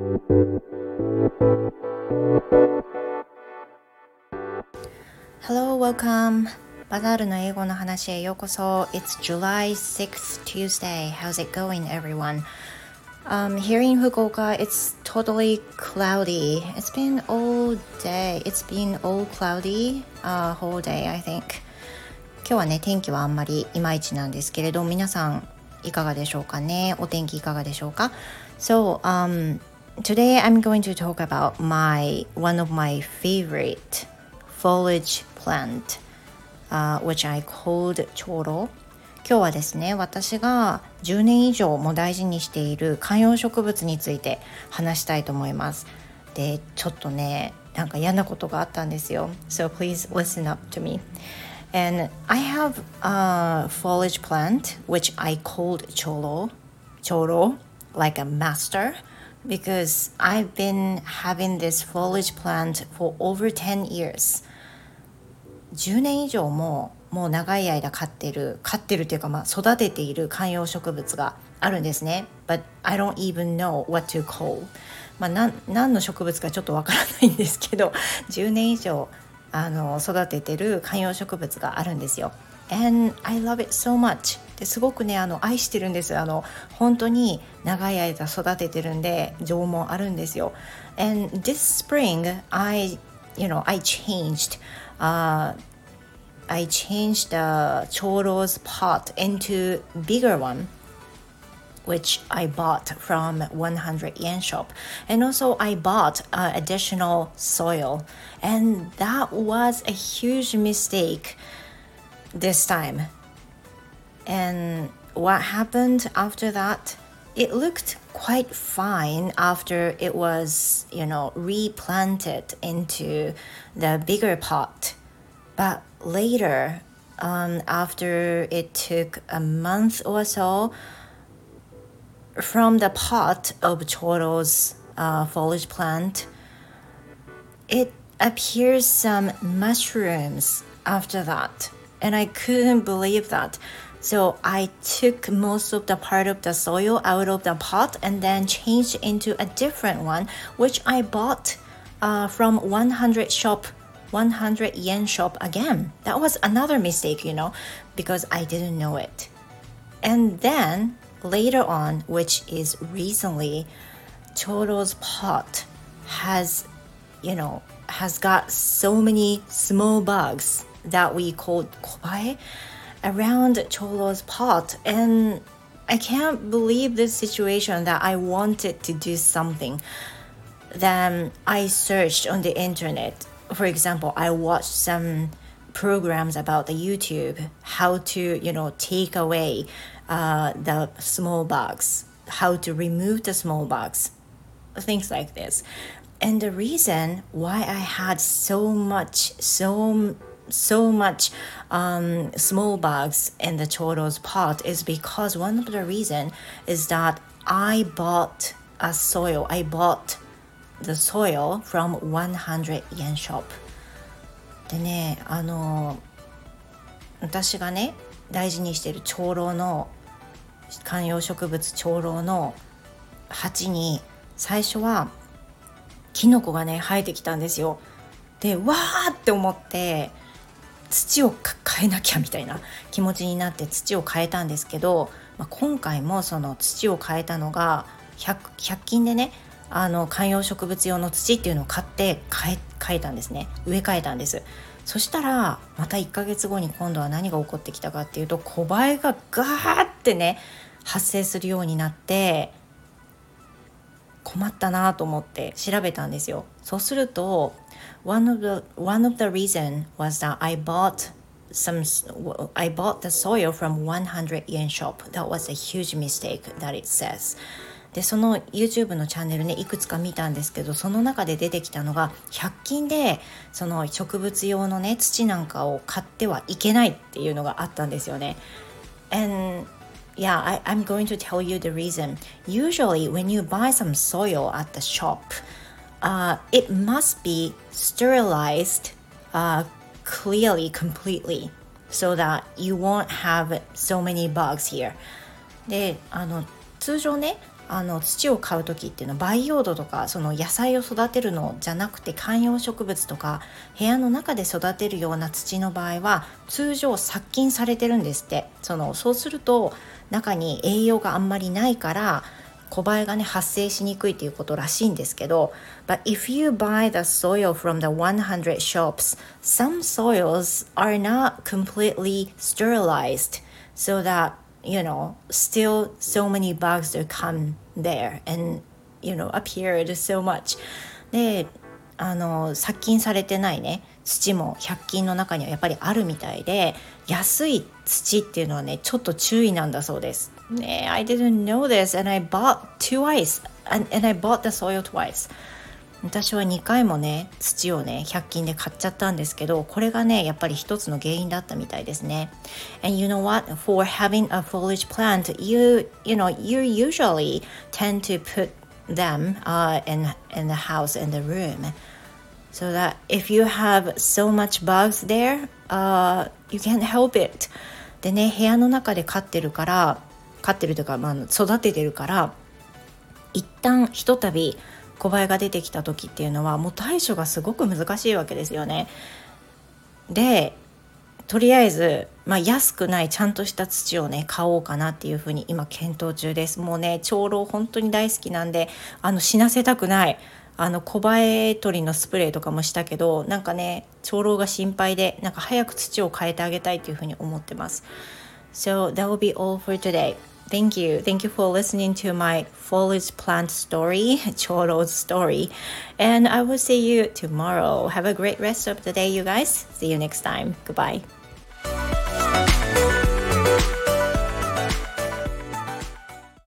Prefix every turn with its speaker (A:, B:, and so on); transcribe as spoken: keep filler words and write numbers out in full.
A: Hello, welcome. バザールの英語の話へようこそ。It's July sixth, Tuesday. How's it going, everyone? Um, here in Fukuoka, it's totally cloudy. It's been all day. It's been all cloudy, uh, whole day, I think. 今日はね、天気はあんまりいまいちなんですけれど、皆さんいかがでしょうかね。お天気いかがでしょうか。So, um, today I'm going to talk about my one of my favorite foliage plant, uh, which I called チョウロ。今日はですね、私がじゅうねん以上も大事にしている観葉植物について話したいと思います。で、ちょっとね、なんか嫌なことがあったんですよ。So please listen up to me.And I have a foliage plant which I called チョウロ、チョウロ like a master because I've been having this foliage plant for over ten years. じゅうねん以上ももう長い間飼ってる飼ってるというか、まあ、育てている観葉植物があるんですね。But I don't even know what to call. まあ、なん何の植物かちょっとわからないんですけど、じゅうねん以上あの育ててる観葉植物があるんですよ。And I love it so much. ですごくね、あの愛してるんです。あの本当に長い間育ててるんで情もあるんですよ。And this spring, I, you know, I changed.Uh, I changed the チョウロ 's pot into bigger one, which I bought from one hundred yen shop. And also I bought uh, additional soil. And that was a huge mistake this time. And what happened after that? It looked quite fine after it was, you know, replanted into the bigger pot. But later, um, after it took a month or so, from the pot of チョウロ 's uh, foliage plant, it appears some mushrooms after that. And I couldn't believe that.So I took most of the part of the soil out of the pot and then changed into a different one, which I bought uh, from one hundred shop, one hundred yen shop again. That was another mistake, you know, because I didn't know it. And then later on, which is recently, チョウロ 's pot has, you know, has got so many small bugs that we called コバエaround チョウロ 's pot, and I can't believe this situation that I wanted to do something. Then I searched on the internet. For example, I watched some programs about the YouTube, how to, you know, take away uh, the small bugs, how to remove the small bugs, things like this. And the reason why I had so much, so so much um, small bugs in the チョウロ 's pot is because one of the reason is that I bought a soil. I bought the soil from one hundred yen shop. でね、あの私がね大事にしているチョウロの観葉植物チョウロの鉢に最初はキノコがね生えてきたんですよ。で、わーって思って土を変えなきゃみたいな気持ちになって土を変えたんですけど、まあ、今回もその土を変えたのが 100, ひゃく均でね、あの観葉植物用の土っていうのを買って変え、変えたんですね。植え替えたんです。そしたらまたいっかげつごに今度は何が起こってきたかっていうと、コバエがガーってね発生するようになって困ったなと思って調べたんですよ。そうするとOne of the one of the reason was that I bought some I bought the soil from one hundred yen shop. That was a huge mistake that it says. で、その YouTube のチャンネルねいくつか見たんですけど、その中で出てきたのがひゃく均でその植物用のね土なんかを買ってはいけないっていうのがあったんですよね。And yeah, I, I'm going to tell you the reason. Usually when you buy some soil at the shop,Uh, it must be sterilized uh, clearly, completely, so that you won't have so many bugs here. で、あの通常ねあの土を買う時っていうのは培養土とかその野菜を育てるのじゃなくて観葉植物とか部屋の中で育てるような土の場合は通常殺菌されてるんですって。そのそうすると中に栄養があんまりないから小バエがね発生しにくいっていうことらしいんですけど、 But if you buy the soil from the one hundred shops, some soils are not completely sterilized, so that you know still so many bugs that come there and you know appeared so much. であの殺菌されてないね土もひゃく均の中にはやっぱりあるみたいで、安い土っていうのはねちょっと注意なんだそうですね。 I didn't know this and I bought twice and, and I bought the soil twice. 私はにかいもね土をねひゃく均で買っちゃったんですけど、これがねやっぱり一つの原因だったみたいですね。 And you know what, for having a foliage plant, you you know you usually tend to put them uh, in, in the house, in the room, so that if you have so much bugs there, uh, you can't help it. でね部屋の中で飼ってるから飼ってるというか、まあ、育ててるから一旦ひとたび小バエが出てきた時っていうのはもう対処がすごく難しいわけですよね。でとりあえず、まあ、安くないちゃんとした土をね買おうかなっていうふうに今検討中です。もうね長老本当に大好きなんであの死なせたくない。あの小バエ取りのスプレーとかもしたけどなんかね長老が心配でなんか早く土を変えてあげたいというふうに思ってます。 So that will be all for today. Thank you. Thank you for listening to my foliage plant story, Choro's story. And I will see you tomorrow. Have a great rest of the day, you guys. See you next time. Goodbye.